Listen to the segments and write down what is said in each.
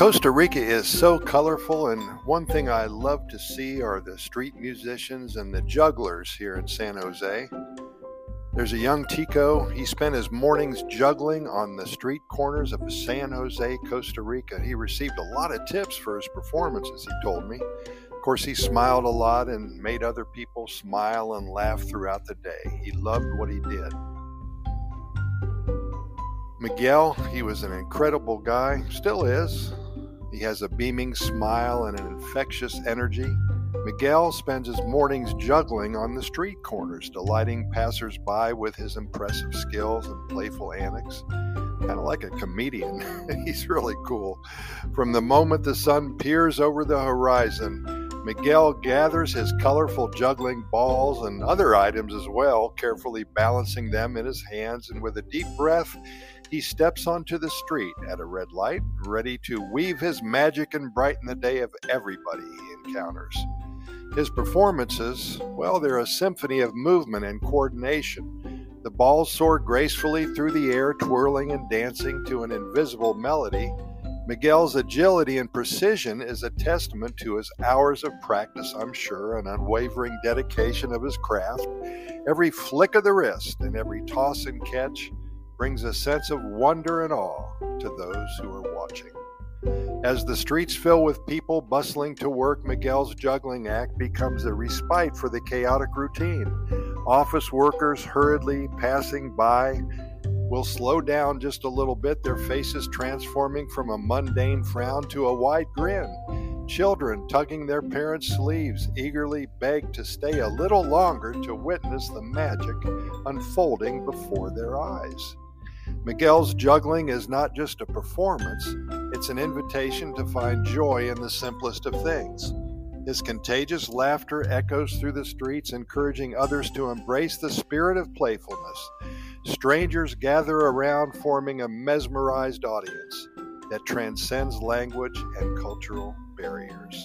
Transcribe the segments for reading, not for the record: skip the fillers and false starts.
Costa Rica is so colorful, and one thing I love to see are the street musicians and the jugglers here in San Jose. There's a young Tico. He spent his mornings juggling on the street corners of San Jose, Costa Rica. He received a lot of tips for his performances, he told me. Of course, he smiled a lot and made other people smile and laugh throughout the day. He loved what he did. Miguel, he was an incredible guy, still is. He has a beaming smile and an infectious energy. Miguel spends his mornings juggling on the street corners, delighting passers-by with his impressive skills and playful antics. Kind of like a comedian. He's really cool. From the moment the sun peers over the horizon, Miguel gathers his colorful juggling balls and other items as well, carefully balancing them in his hands, and with a deep breath, he steps onto the street at a red light, ready to weave his magic and brighten the day of everybody he encounters. His performances, well, they're a symphony of movement and coordination. The balls soar gracefully through the air, twirling and dancing to an invisible melody. Miguel's agility and precision is a testament to his hours of practice, I'm sure, and unwavering dedication of his craft. Every flick of the wrist and every toss and catch brings a sense of wonder and awe to those who are watching. As the streets fill with people bustling to work, Miguel's juggling act becomes a respite for the chaotic routine. Office workers hurriedly passing by will slow down just a little bit, their faces transforming from a mundane frown to a wide grin. Children, tugging their parents' sleeves, eagerly beg to stay a little longer to witness the magic unfolding before their eyes. Miguel's juggling is not just a performance, it's an invitation to find joy in the simplest of things. His contagious laughter echoes through the streets, encouraging others to embrace the spirit of playfulness. Strangers gather around, forming a mesmerized audience that transcends language and cultural barriers.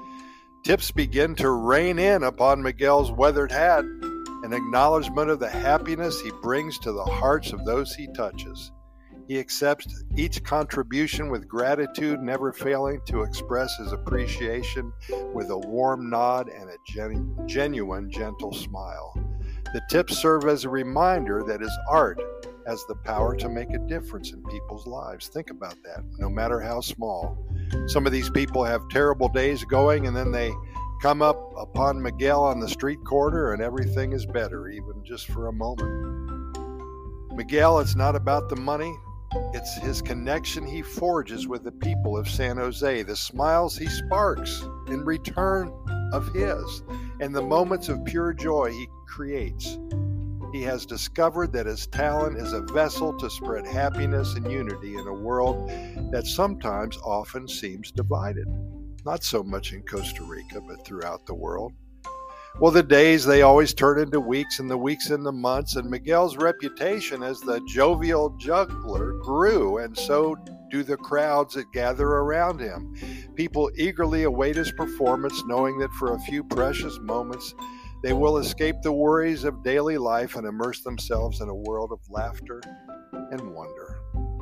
Tips begin to rain in upon Miguel's weathered hat, an acknowledgement of the happiness he brings to the hearts of those he touches. He accepts each contribution with gratitude, never failing to express his appreciation with a warm nod and a genuine, gentle smile. The tips serve as a reminder that his art has the power to make a difference in people's lives. Think about that, no matter how small. Some of these people have terrible days going, and then they come up upon Miguel on the street corner and everything is better, even just for a moment. Miguel, it's not about the money. It's his connection he forges with the people of San Jose, the smiles he sparks in return of his, and the moments of pure joy he creates. He has discovered that his talent is a vessel to spread happiness and unity in a world that sometimes often seems divided. Not so much in Costa Rica, but throughout the world. Well, the days, they always turn into weeks, and the weeks into months, and Miguel's reputation as the jovial juggler grew, and so do the crowds that gather around him. People eagerly await his performance, knowing that for a few precious moments, they will escape the worries of daily life and immerse themselves in a world of laughter and wonder.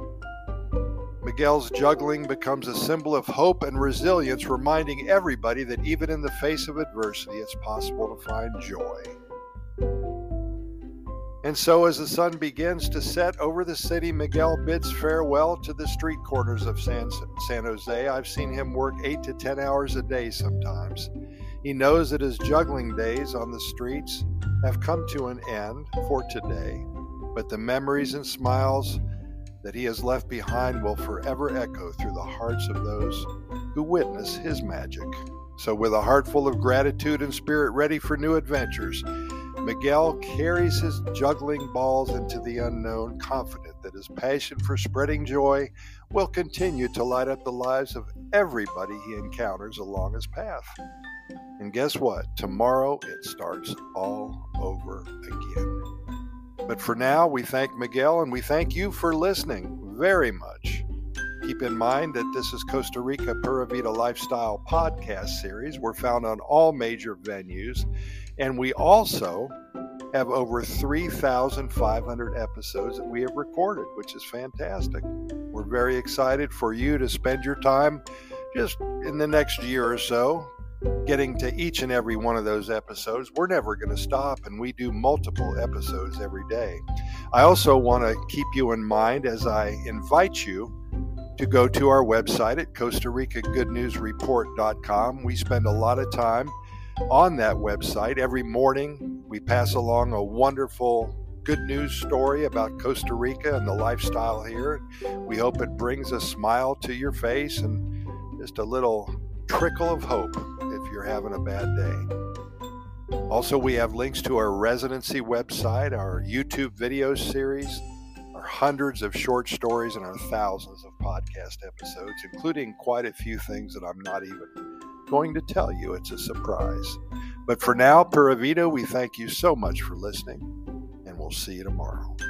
Miguel's juggling becomes a symbol of hope and resilience, reminding everybody that even in the face of adversity, it's possible to find joy. And so as the sun begins to set over the city, Miguel bids farewell to the street corners of San Jose. I've seen him work 8 to 10 hours a day sometimes. He knows that his juggling days on the streets have come to an end for today, but the memories and smiles that he has left behind will forever echo through the hearts of those who witness his magic. So with a heart full of gratitude and spirit ready for new adventures, Miguel carries his juggling balls into the unknown, confident that his passion for spreading joy will continue to light up the lives of everybody he encounters along his path. And guess what? Tomorrow it starts all over again. But for now, we thank Miguel and we thank you for listening very much. Keep in mind that this is Costa Rica Pura Vida Lifestyle podcast series. We're found on all major venues, and we also have over 3,500 episodes that we have recorded, which is fantastic. We're We're very excited for you to spend your time just in the next year or so getting to each and every one of those episodes. We're never going to stop, and we do multiple episodes every day. I also want to keep you in mind as I invite you to go to our website at Costa Rica GoodNewsReport.com. We spend a lot of time on that website. Every morning, we pass along a wonderful good news story about Costa Rica and the lifestyle here. We hope it brings a smile to your face and just a little trickle of hope if you're having a bad day. Also, we have links to our residency website, our YouTube video series, our hundreds of short stories, and our thousands of podcast episodes, including quite a few things that I'm not even going to tell you. It's a surprise. But for now, Pura Vida, we thank you so much for listening, and we'll see you tomorrow.